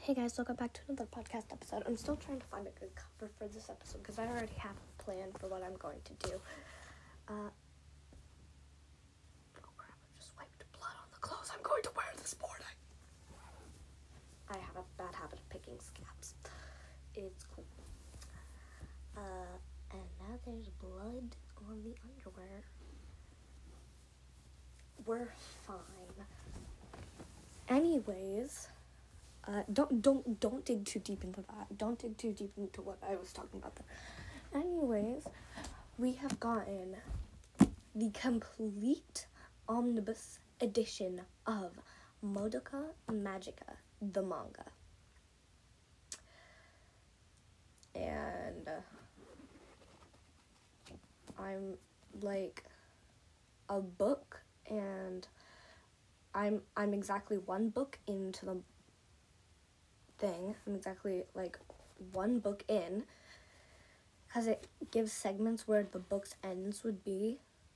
Hey guys, welcome back to another podcast episode. I'm still trying to find a good cover for this episode because I already have a plan for what I'm going to do. Oh crap, I just wiped blood on the clothes I'm going to wear this morning. I have a bad habit of picking scabs. It's cool. And now there's blood on the underwear. We're fine. Anyways, don't dig too deep into that. Don't dig too deep into what I was talking about there. Anyways, we have gotten the complete omnibus edition of Madoka Magica, the manga. And I'm like a book, and I'm exactly one book into the thing. I'm exactly like one book in, because it gives segments where the book's ends would be.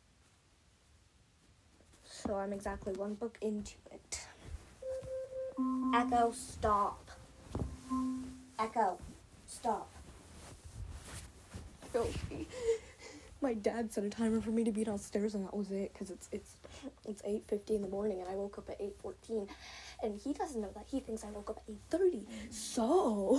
So I'm exactly one book into it. Echo, stop. Echo, stop. My dad set a timer for me to be downstairs, and that was it, because it's 8:50 in the morning, and I woke up at 8:14, and he doesn't know that. He thinks I woke up at 8:30. So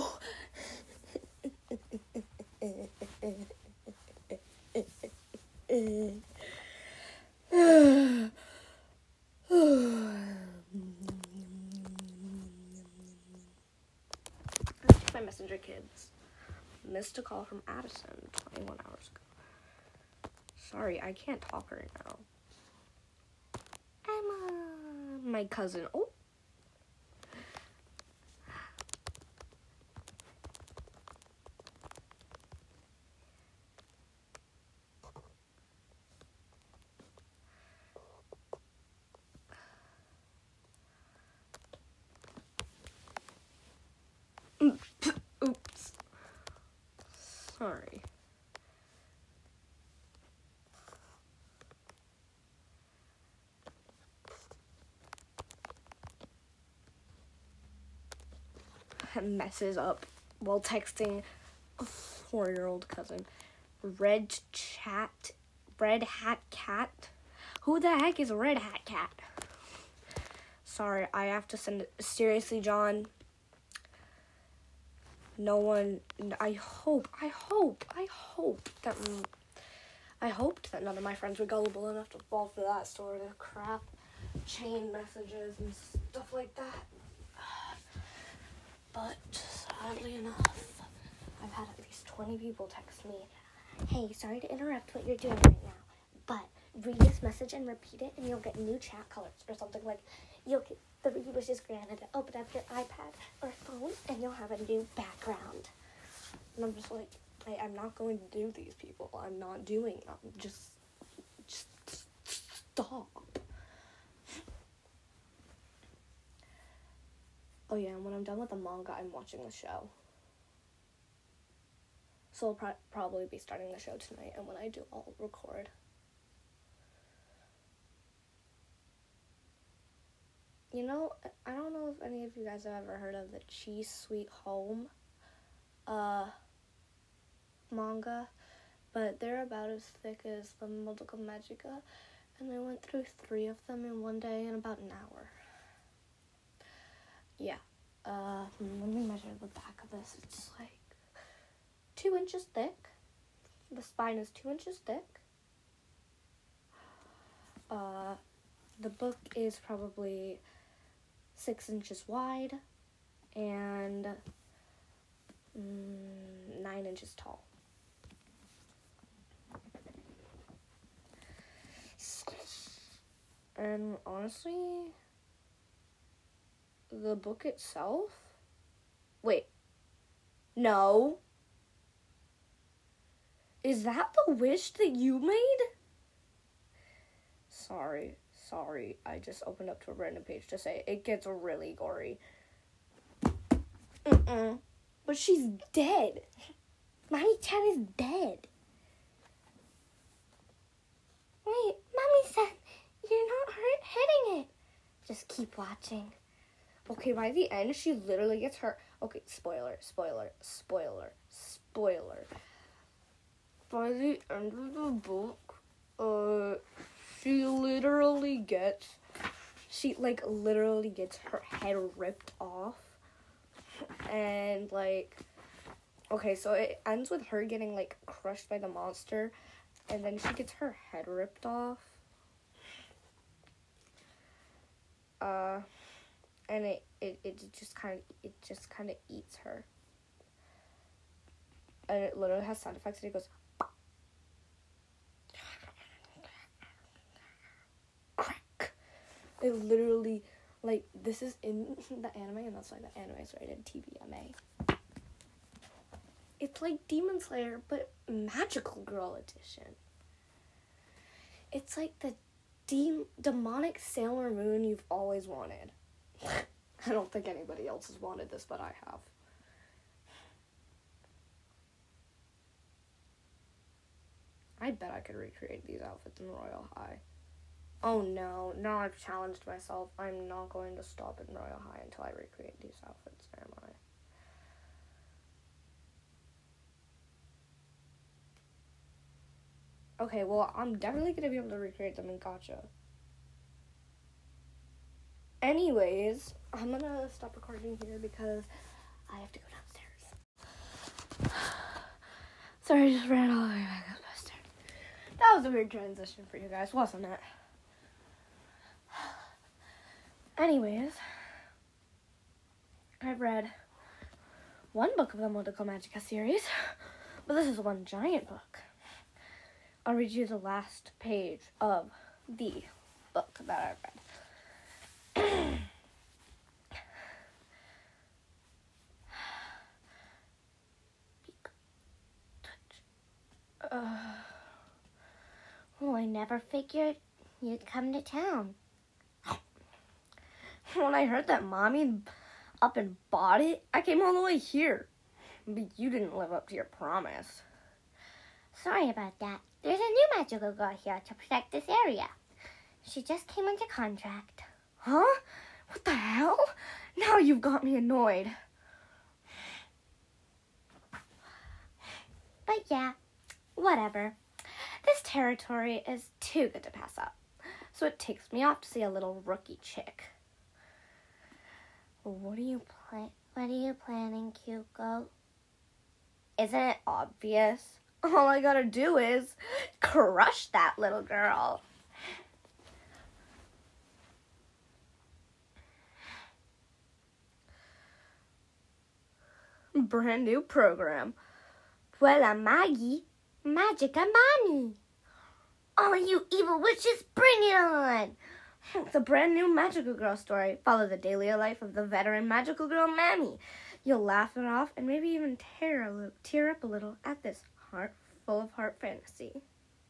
my messenger kids. Missed a call from Addison 21 hours ago. Sorry, I can't talk right now. Emma, my cousin. Oh. Oops. Sorry. Messes up while texting a 4-year-old cousin. Red Hat Cat? Who the heck is Red Hat Cat? Sorry, I have to send it. Seriously, John. No one. I hoped that none of my friends were gullible enough to fall for that sort of crap. Chain messages and stuff like that. But sadly enough, I've had at least 20 people text me, "Hey, sorry to interrupt what you're doing right now, but read this message and repeat it, and you'll get new chat colors," or something like, "You'll get 3 wishes granted. Open up your iPad or phone, and you'll have a new background." And I'm just like, I'm not going to do these people. I'm not doing them. Just stop. Oh yeah, and when I'm done with the manga, I'm watching the show. So I'll probably be starting the show tonight, and when I do, I'll record. You know, I don't know if any of you guys have ever heard of the Chi Sweet Home manga, but they're about as thick as the Madoka Magica, and I went through 3 of them in one day in about an hour. Yeah. Let me measure the back of this. It's like 2 inches thick. The spine is 2 inches thick. The book is probably 6 inches wide and 9 inches tall. And honestly, the book itself... Wait. No. Is that the wish that you made? Sorry. I just opened up to a random page to say it gets really gory. But she's dead. Mami-chan is dead. Wait, Mommy said you're not hitting it. Just keep watching. Okay, by the end, she literally gets her... Okay, spoiler. By the end of the book, she literally gets her head ripped off. And, like... Okay, so it ends with her getting, like, crushed by the monster. And then she gets her head ripped off. And it just kind of eats her. And it literally has sound effects, and it goes... Crack. It literally, like, this is in the anime, and that's why the anime is rated TVMA. It's like Demon Slayer, but Magical Girl edition. It's like the demonic Sailor Moon you've always wanted. I don't think anybody else has wanted this, but I have. I bet I could recreate these outfits in Royal High. Oh no, now I've challenged myself. I'm not going to stop in Royal High until I recreate these outfits, am I? Okay, well, I'm definitely going to be able to recreate them in Gacha. Anyways, I'm going to stop recording here because I have to go downstairs. Sorry, I just ran all the way back up the stairs. That was a weird transition for you guys, wasn't it? Anyways, I've read one book of the Modico Magica series, but this is one giant book. I'll read you the last page of the book that I read. Well, I never figured you'd come to town. When I heard that Mommy up and bought it, I came all the way here. But you didn't live up to your promise. Sorry about that. There's a new magical girl here to protect this area. She just came under contract. Huh? What the hell? Now you've got me annoyed. But yeah, whatever. This territory is too good to pass up. So it takes me off to see a little rookie chick. What are you planning, Kyuko? Isn't it obvious? All I gotta do is crush that little girl. Brand new program. Puella Magi, Magica Mami. All you evil witches, bring it on! It's a brand new Magical Girl story. Follow the daily life of the veteran Magical Girl Mammy. You'll laugh it off and maybe even tear up a little at this heart full of heart fantasy.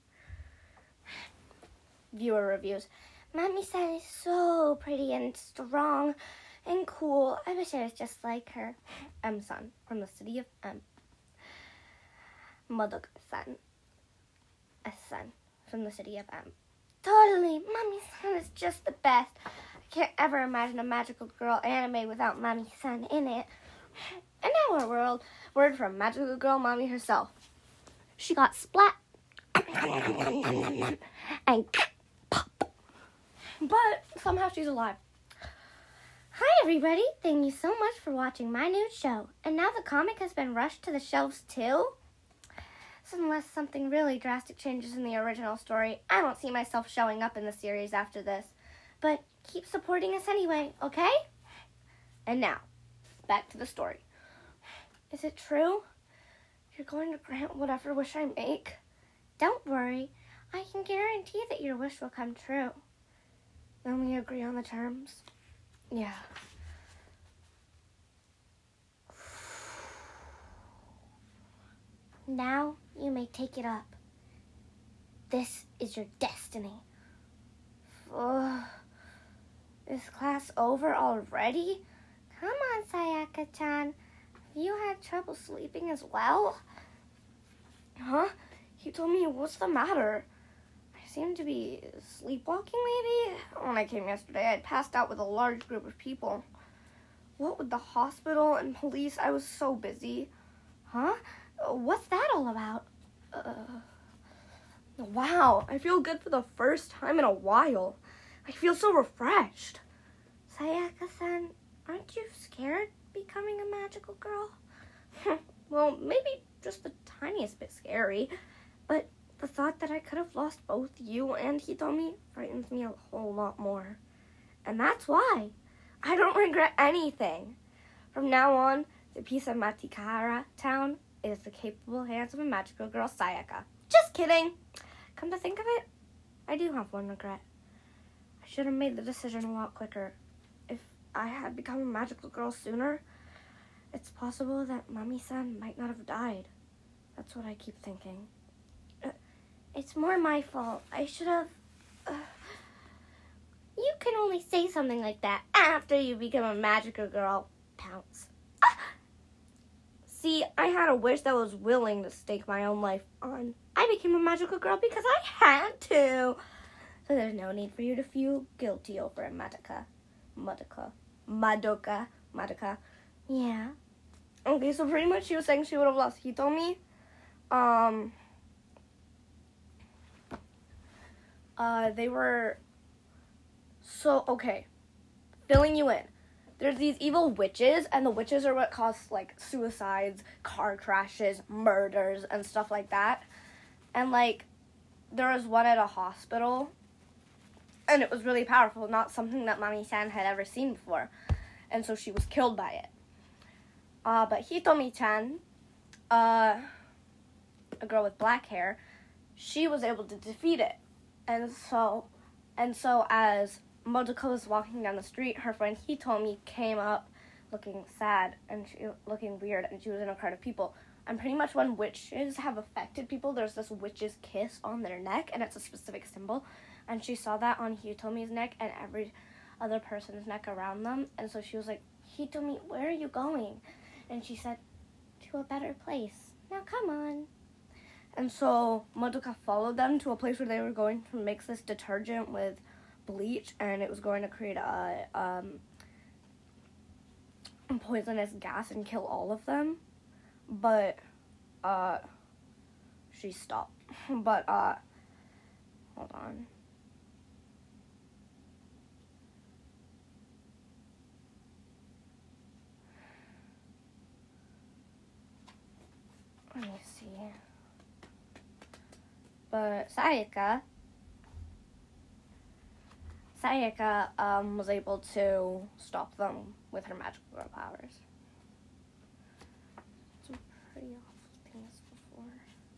Viewer reviews. Mami-san is so pretty and strong and cool. I wish I was just like her. M-san, from the city of M. Madoka-san, S-san, from the city of M. Totally. Mami-san is just the best. I can't ever imagine a Magical Girl anime without Mami-san in it. And now our word from Magical Girl Mommy herself. She got splat and pop. But somehow she's alive. Hi everybody, thank you so much for watching my new show. And now the comic has been rushed to the shelves too? So unless something really drastic changes in the original story, I don't see myself showing up in the series after this. But keep supporting us anyway, okay? And now, back to the story. Is it true? You're going to grant whatever wish I make? Don't worry, I can guarantee that your wish will come true. Then we agree on the terms? Yeah. Now you may take it up. This is your destiny. Is class over already? Come on, Sayaka-chan. Have you had trouble sleeping as well? Huh? He told me what's the matter. I seem to be sleepwalking, maybe? When I came yesterday, I'd passed out with a large group of people. what with the hospital and police, I was so busy. Huh? What's that all about? Wow, I feel good for the first time in a while. I feel so refreshed. Sayaka-san, aren't you scared becoming a magical girl? Well, maybe just the tiniest bit scary, but the thought that I could have lost both you and Hitomi frightens me a whole lot more. And that's why I don't regret anything. From now on, the piece of Matikara town is the capable hands of a magical girl, Sayaka. Just kidding. Come to think of it, I do have one regret. I should have made the decision a lot quicker. If I had become a magical girl sooner, it's possible that Mami-san might not have died. That's what I keep thinking. It's more my fault. I should have... You can only say something like that after you become a magical girl. Pounce. See, I had a wish that was willing to stake my own life on. I became a magical girl because I had to. So there's no need for you to feel guilty over it, Madoka. Yeah. Okay, so pretty much she was saying she would have lost Hitomi. They were... So, okay. Filling you in. There's these evil witches, and the witches are what cause, like, suicides, car crashes, murders, and stuff like that. And, like, there was one at a hospital, and it was really powerful, not something that Mami-san had ever seen before. And so she was killed by it. But Hitomi-chan, a girl with black hair, she was able to defeat it. And so as Madoka was walking down the street, her friend Hitomi came up looking sad and looking weird, and she was in a crowd of people. And pretty much when witches have affected people, there's this witch's kiss on their neck, and it's a specific symbol. And she saw that on Hitomi's neck and every other person's neck around them. And so she was like, Hitomi, where are you going? And she said, to a better place. Now come on. And so Madoka followed them to a place where they were going to mix this detergent with bleach, and it was going to create a poisonous gas and kill all of them. But she stopped. But hold on. Let me see. But Sayaka was able to stop them with her magical girl powers. Some pretty awful things before.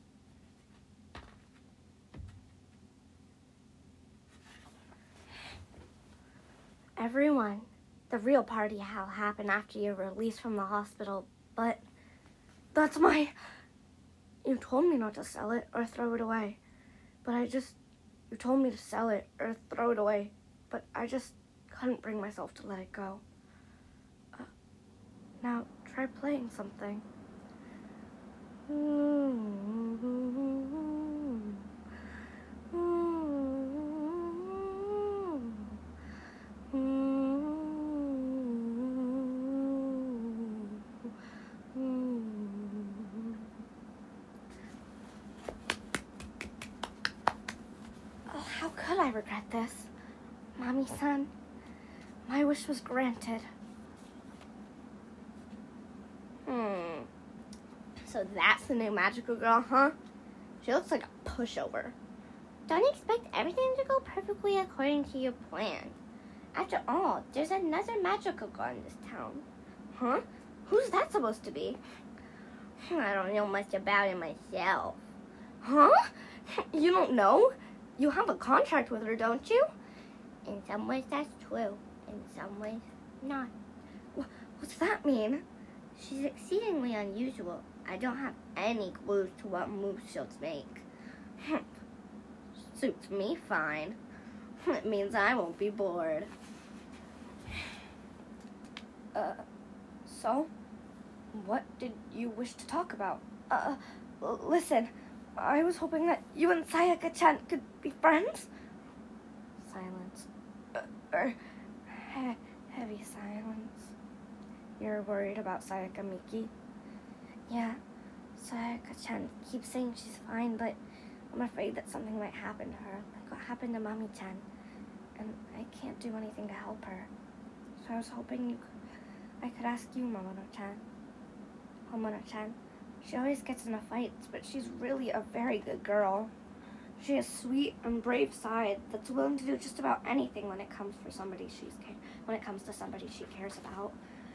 Everyone, the real party will happen after you're released from the hospital, but that's my... You told me not to sell it or throw it away, but you told me to sell it or throw it away, but I just couldn't bring myself to let it go. Now, try playing something. How could I regret this? Mami-san, my wish was granted. So that's the new magical girl, huh? She looks like a pushover. Don't expect everything to go perfectly according to your plan. After all, there's another magical girl in this town. Huh? Who's that supposed to be? I don't know much about it myself. Huh? You don't know? You have a contract with her, don't you? In some ways, that's true. In some ways, not. What's that mean? She's exceedingly unusual. I don't have any clues to what moves she'll make. Suits me fine. It means I won't be bored. So? What did you wish to talk about? Listen. I was hoping that you and Sayaka-chan could be friends. Silence. Heavy silence. You're worried about Sayaka Miki? Yeah, Sayaka-chan keeps saying she's fine, but I'm afraid that something might happen to her, like what happened to Mami-chan. And I can't do anything to help her. So I was hoping I could ask you, Momono-chan. Momono-chan, she always gets into fights, but she's really a very good girl. She has a sweet and brave side that's willing to do just about anything when it comes to somebody she cares about.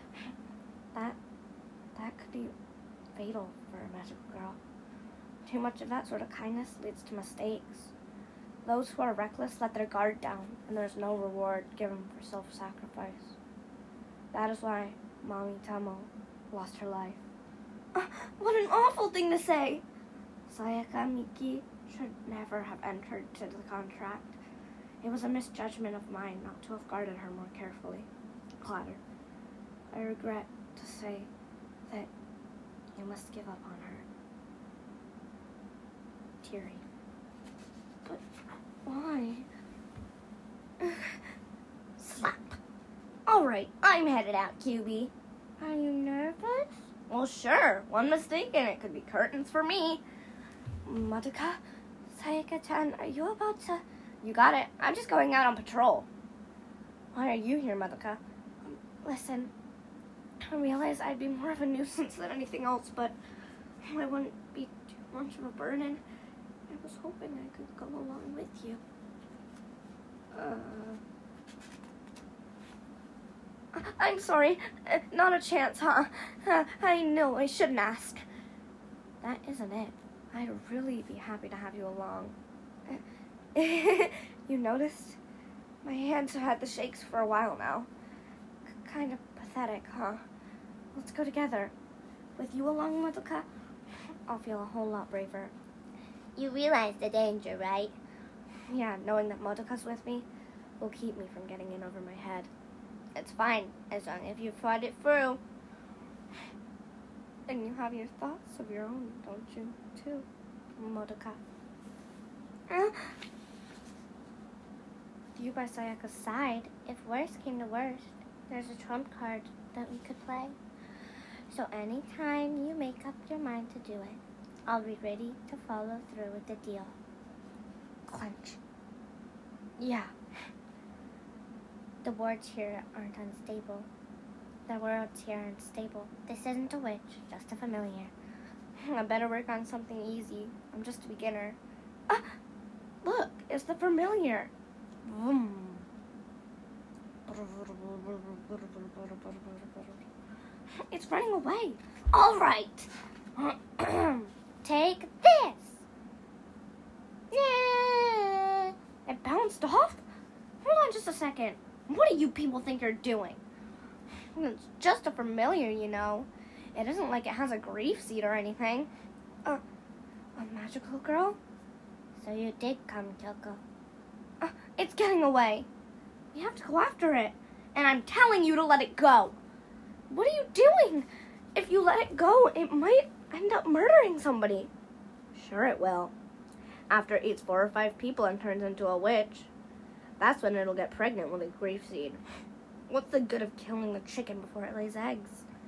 That could be fatal for a magical girl. Too much of that sort of kindness leads to mistakes. Those who are reckless let their guard down, and there's no reward given for self-sacrifice. That is why Mami Tomo lost her life. What an awful thing to say! Sayaka Miki should never have entered into the contract. It was a misjudgment of mine not to have guarded her more carefully. Clatter. I regret to say that you must give up on her. Teary. But why? Slap. Alright, I'm headed out, QB. Are you nervous? Well, sure. One mistake and it could be curtains for me. Madoka, Sayaka-chan, are you about to... You got it. I'm just going out on patrol. Why are you here, Madoka? Listen, I realize I'd be more of a nuisance than anything else, but I wouldn't be too much of a burden. I was hoping I could go along with you. I'm sorry. Not a chance, huh? I know I shouldn't ask. That isn't it. I'd really be happy to have you along. You noticed? My hands have had the shakes for a while now. Kind of pathetic, huh? Let's go together. With you along, Madoka, I'll feel a whole lot braver. You realize the danger, right? Yeah, knowing that Madoka's with me will keep me from getting in over my head. It's fine, as long as you fought it through. And you have your thoughts of your own, don't you, too, Madoka? You by Sayaka's side. If worst came to worst, there's a trump card that we could play. So anytime you make up your mind to do it, I'll be ready to follow through with the deal. Clench. Yeah. The words here aren't unstable. The words here aren't stable. This isn't a witch, just a familiar. I better work on something easy. I'm just a beginner. Look, it's the familiar. Vroom. It's running away. All right. Take this. Yeah. It bounced off? Hold on just a second. What do you people think you're doing? It's just a familiar, you know. It isn't like it has a grief seed or anything. A magical girl? So you did come, Kyoko. It's getting away. We have to go after it. And I'm telling you to let it go. What are you doing? If you let it go, it might end up murdering somebody. Sure it will. After it eats 4 or 5 people and turns into a witch. That's when it'll get pregnant with a grief seed. What's the good of killing the chicken before it lays eggs?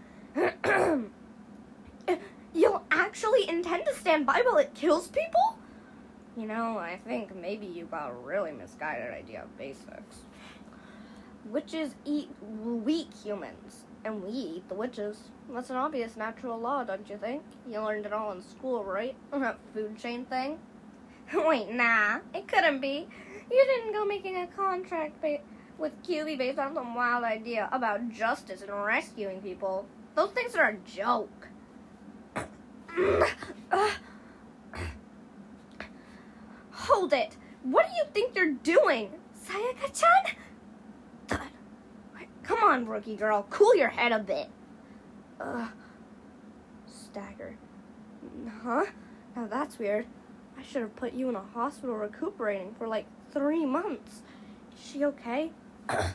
You'll actually intend to stand by while it kills people? You know, I think maybe you got a really misguided idea of basics. Witches eat weak humans, and we eat the witches. That's an obvious natural law, don't you think? You learned it all in school, right? That food chain thing? Wait, nah, it couldn't be. You didn't go making a contract with QB based on some wild idea about justice and rescuing people. Those things are a joke. Hold it! What do you think you're doing? Sayaka-chan? Come on, rookie girl. Cool your head a bit. Stagger. Huh? Now that's weird. I should have put you in a hospital recuperating for like 3 months. Is she okay? Her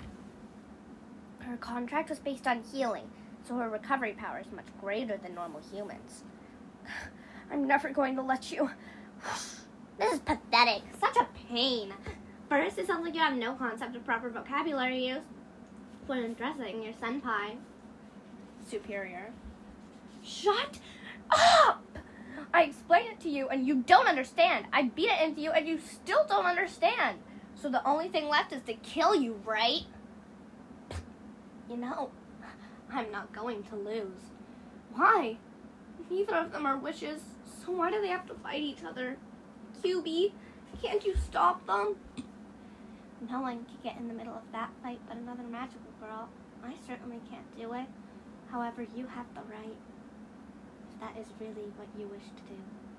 contract was based on healing, so her recovery power is much greater than normal humans. I'm never going to let you... This is pathetic. Such a pain. First, it sounds like you have no concept of proper vocabulary use when addressing your senpai. superior. Shut up! I explained it to you and you don't understand. I beat it into you and you still don't understand. So the only thing left is to kill you, right? You know, I'm not going to lose. Why? Neither of them are witches, so why do they have to fight each other? QB, can't you stop them? No one can get in the middle of that fight but another magical girl. I certainly can't do it. However, you have the right, if that is really what you wish to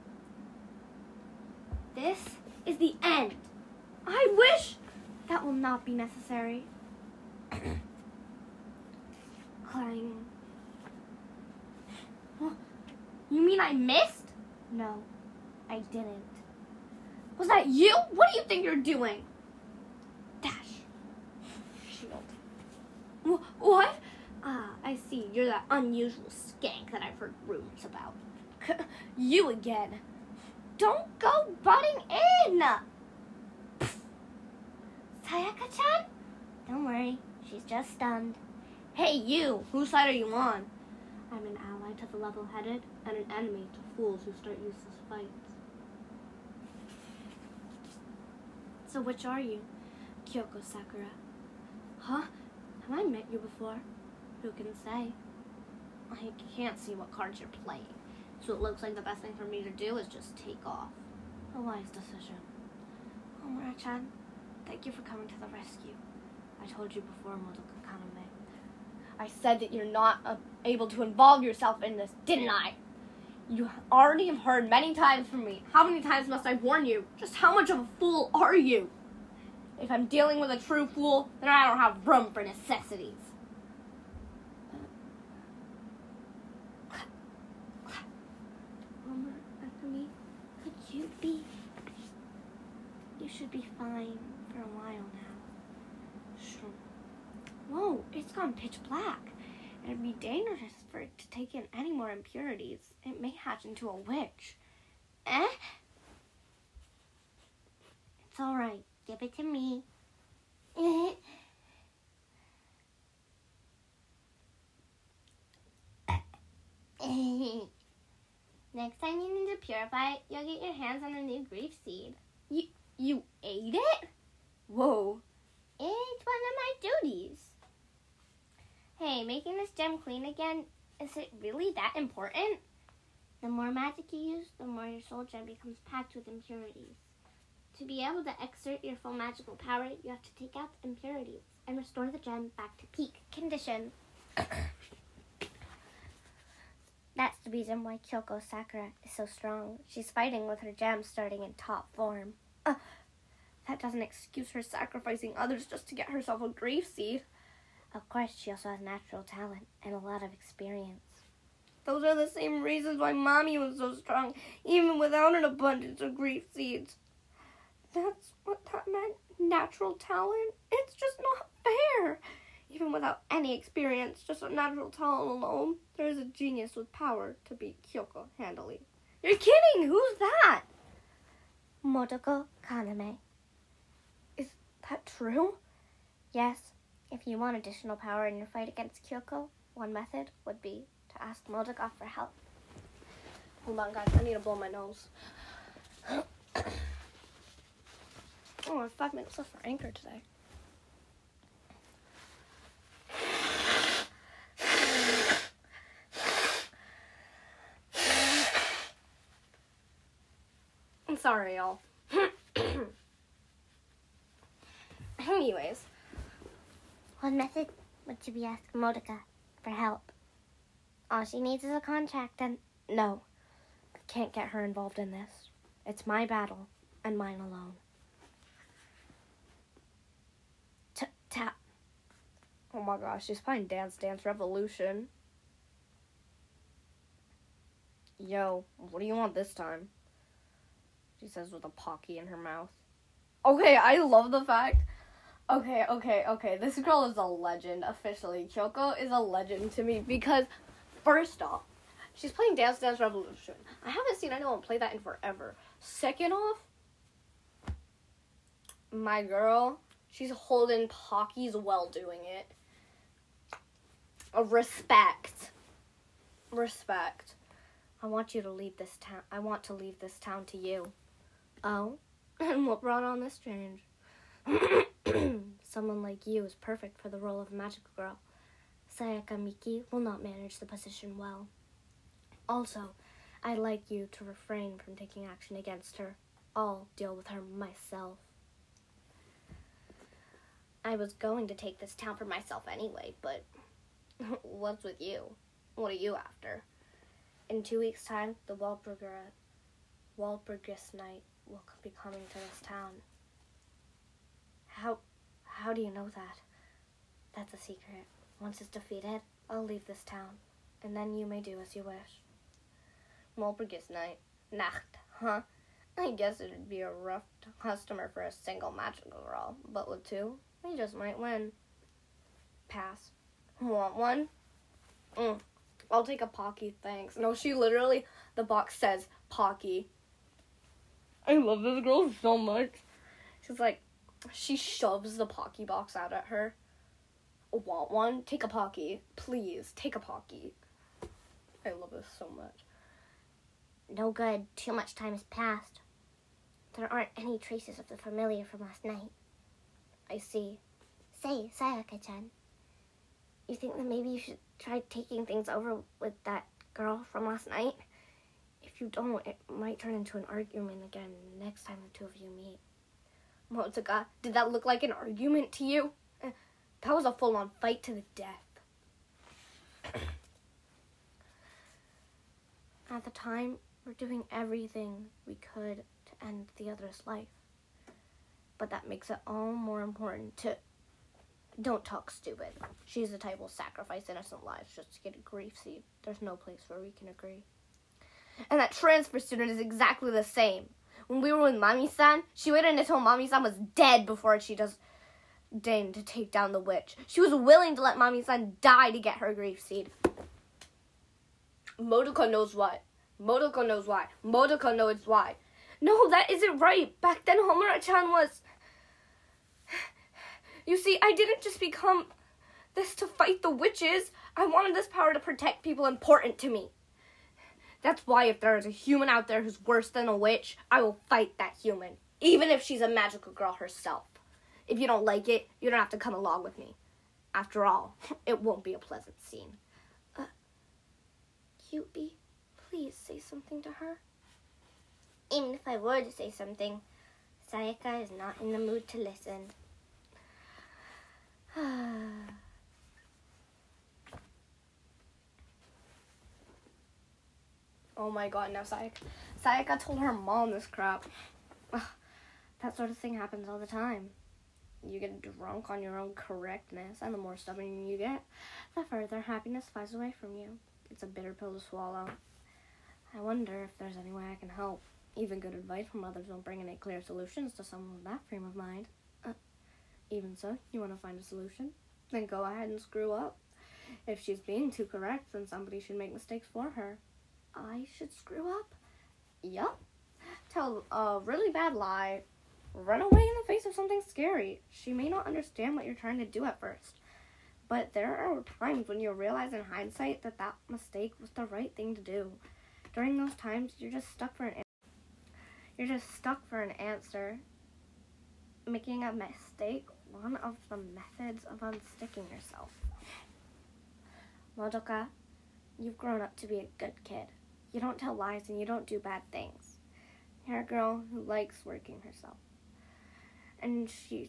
do. This is the end. I wish that will not be necessary. Clang. You mean I missed? No, I didn't. Was that you? What do you think you're doing? Dash. Shield. What? Ah, I see. You're that unusual skank that I've heard rumors about. You again. Don't go butting in! Sayaka-chan? Don't worry. She's just stunned. Hey, you! Whose side are you on? I'm an ally to the level-headed and an enemy to fools who start useless fights. So which are you? Kyoko Sakura. Huh? Have I met you before? Who can say? I can't see what cards you're playing, so it looks like the best thing for me to do is just take off. A wise decision. Omura-chan, thank you for coming to the rescue. I told you before, Madoka Kaname. I said that you're not able to involve yourself in this, didn't I? You already have heard many times from me. How many times must I warn you? Just how much of a fool are you? If I'm dealing with a true fool, then I don't have room for necessities. Anthony, could you be... You should be fine for a while now. Sure. Whoa, it's gone pitch black. It'd be dangerous for it to take in any more impurities. It may hatch into a witch. Eh? It's alright. Give it to me. Next time you need to purify it, you'll get your hands on a new grief seed. You ate it? Whoa. It's one of my duties. Hey, making this gem clean again, is it really that important? The more magic you use, the more your soul gem becomes packed with impurities. To be able to exert your full magical power, you have to take out the impurities and restore the gem back to peak condition. That's the reason why Kyoko Sakura is so strong. She's fighting with her gem starting in top form. That doesn't excuse her sacrificing others just to get herself a grief seed. Of course, she also has natural talent and a lot of experience. Those are the same reasons why Mommy was so strong, even without an abundance of grief seeds. That's what that meant? Natural talent? It's just not fair. Even without any experience, just a natural talent alone, there is a genius with power to beat Kyoko handily. You're kidding! Who's that? Madoka Kaname. Is that true? Yes. If you want additional power in your fight against Kyoko, one method would be to ask Madoka for help. Hold on, guys. I need to blow my nose. Oh, I have 5 minutes left for Anchor today. I'm sorry, y'all. Anyways. What method would you be asking Madoka for help? All she needs is a contract and... No. I can't get her involved in this. It's my battle and mine alone. Tap. Oh my gosh, she's playing Dance Dance Revolution. Yo, what do you want this time? She says with a Pocky in her mouth. Okay, I love the fact... Okay. This girl is a legend, officially. Kyoko is a legend to me because, first off, she's playing Dance Dance Revolution. I haven't seen anyone play that in forever. Second off, my girl, she's holding Pockies while doing it. Respect. Respect. I want to leave this town to you. Oh? And what brought on this change? Someone like you is perfect for the role of magical girl. Sayaka Miki will not manage the position well. Also, I'd like you to refrain from taking action against her. I'll deal with her myself. I was going to take this town for myself anyway, but what's with you? What are you after? In 2 weeks' time, the Walpurgis Knight will be coming to this town. How do you know that? That's a secret. Once it's defeated, I'll leave this town, and then you may do as you wish. Walpurgis Knight. Nacht, huh? I guess it'd be a rough customer for a single magical girl, but with two, we just might win. Pass. Want one? I'll take a Pocky, thanks. No, she literally, the box says Pocky. I love this girl so much. She's like, she shoves the Pocky box out at her. Want one? Take a Pocky. Please, take a Pocky. I love this so much. No good. Too much time has passed. There aren't any traces of the familiar from last night. I see. Say, Sayaka-chan, you think that maybe you should try taking things over with that girl from last night? If you don't, it might turn into an argument again next time the two of you meet. Motsuka, did that look like an argument to you? That was a full-on fight to the death. At the time, we're doing everything we could to end the other's life. But that makes it all more important to... Don't talk stupid. She's the type who will sacrifice innocent lives just to get a grief seed. There's no place where we can agree. And that transfer student is exactly the same. When we were with Mami-san, she waited until Mami-san was dead before she deigned to take down the witch. She was willing to let Mami-san die to get her grief seed. Modoka knows what. Modoka knows why. Modoka knows why. No, that isn't right. Back then, Homura-chan was... You see, I didn't just become this to fight the witches. I wanted this power to protect people important to me. That's why if there is a human out there who's worse than a witch, I will fight that human, even if she's a magical girl herself. If you don't like it, you don't have to come along with me. After all, it won't be a pleasant scene. Kyubey, please say something to her. Even if I were to say something, Sayaka is not in the mood to listen. Oh my god, now Sayaka told her mom this crap. That sort of thing happens all the time. You get drunk on your own correctness, and the more stubborn you get, the further happiness flies away from you. It's a bitter pill to swallow. I wonder if there's any way I can help. Even good advice from others won't bring any clear solutions to someone with that frame of mind. Even so, you want to find a solution? Then go ahead and screw up. If she's being too correct, then somebody should make mistakes for her. I should screw up? Yup. Tell a really bad lie. Run away in the face of something scary. She may not understand what you're trying to do at first. But there are times when you realize in hindsight that that mistake was the right thing to do. During those times, you're just stuck for an answer. Making a mistake, one of the methods of unsticking yourself. Madoka, you've grown up to be a good kid. You don't tell lies and you don't do bad things. You're a girl who likes working herself. And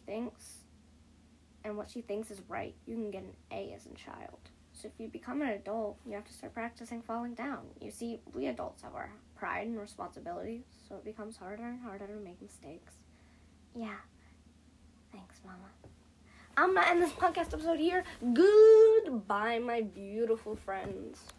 what she thinks is right. You can get an A as a child. So if you become an adult, you have to start practicing falling down. You see, we adults have our pride and responsibility, so it becomes harder and harder to make mistakes. Yeah. Thanks, Mama. I'm gonna end this podcast episode here. Goodbye, my beautiful friends.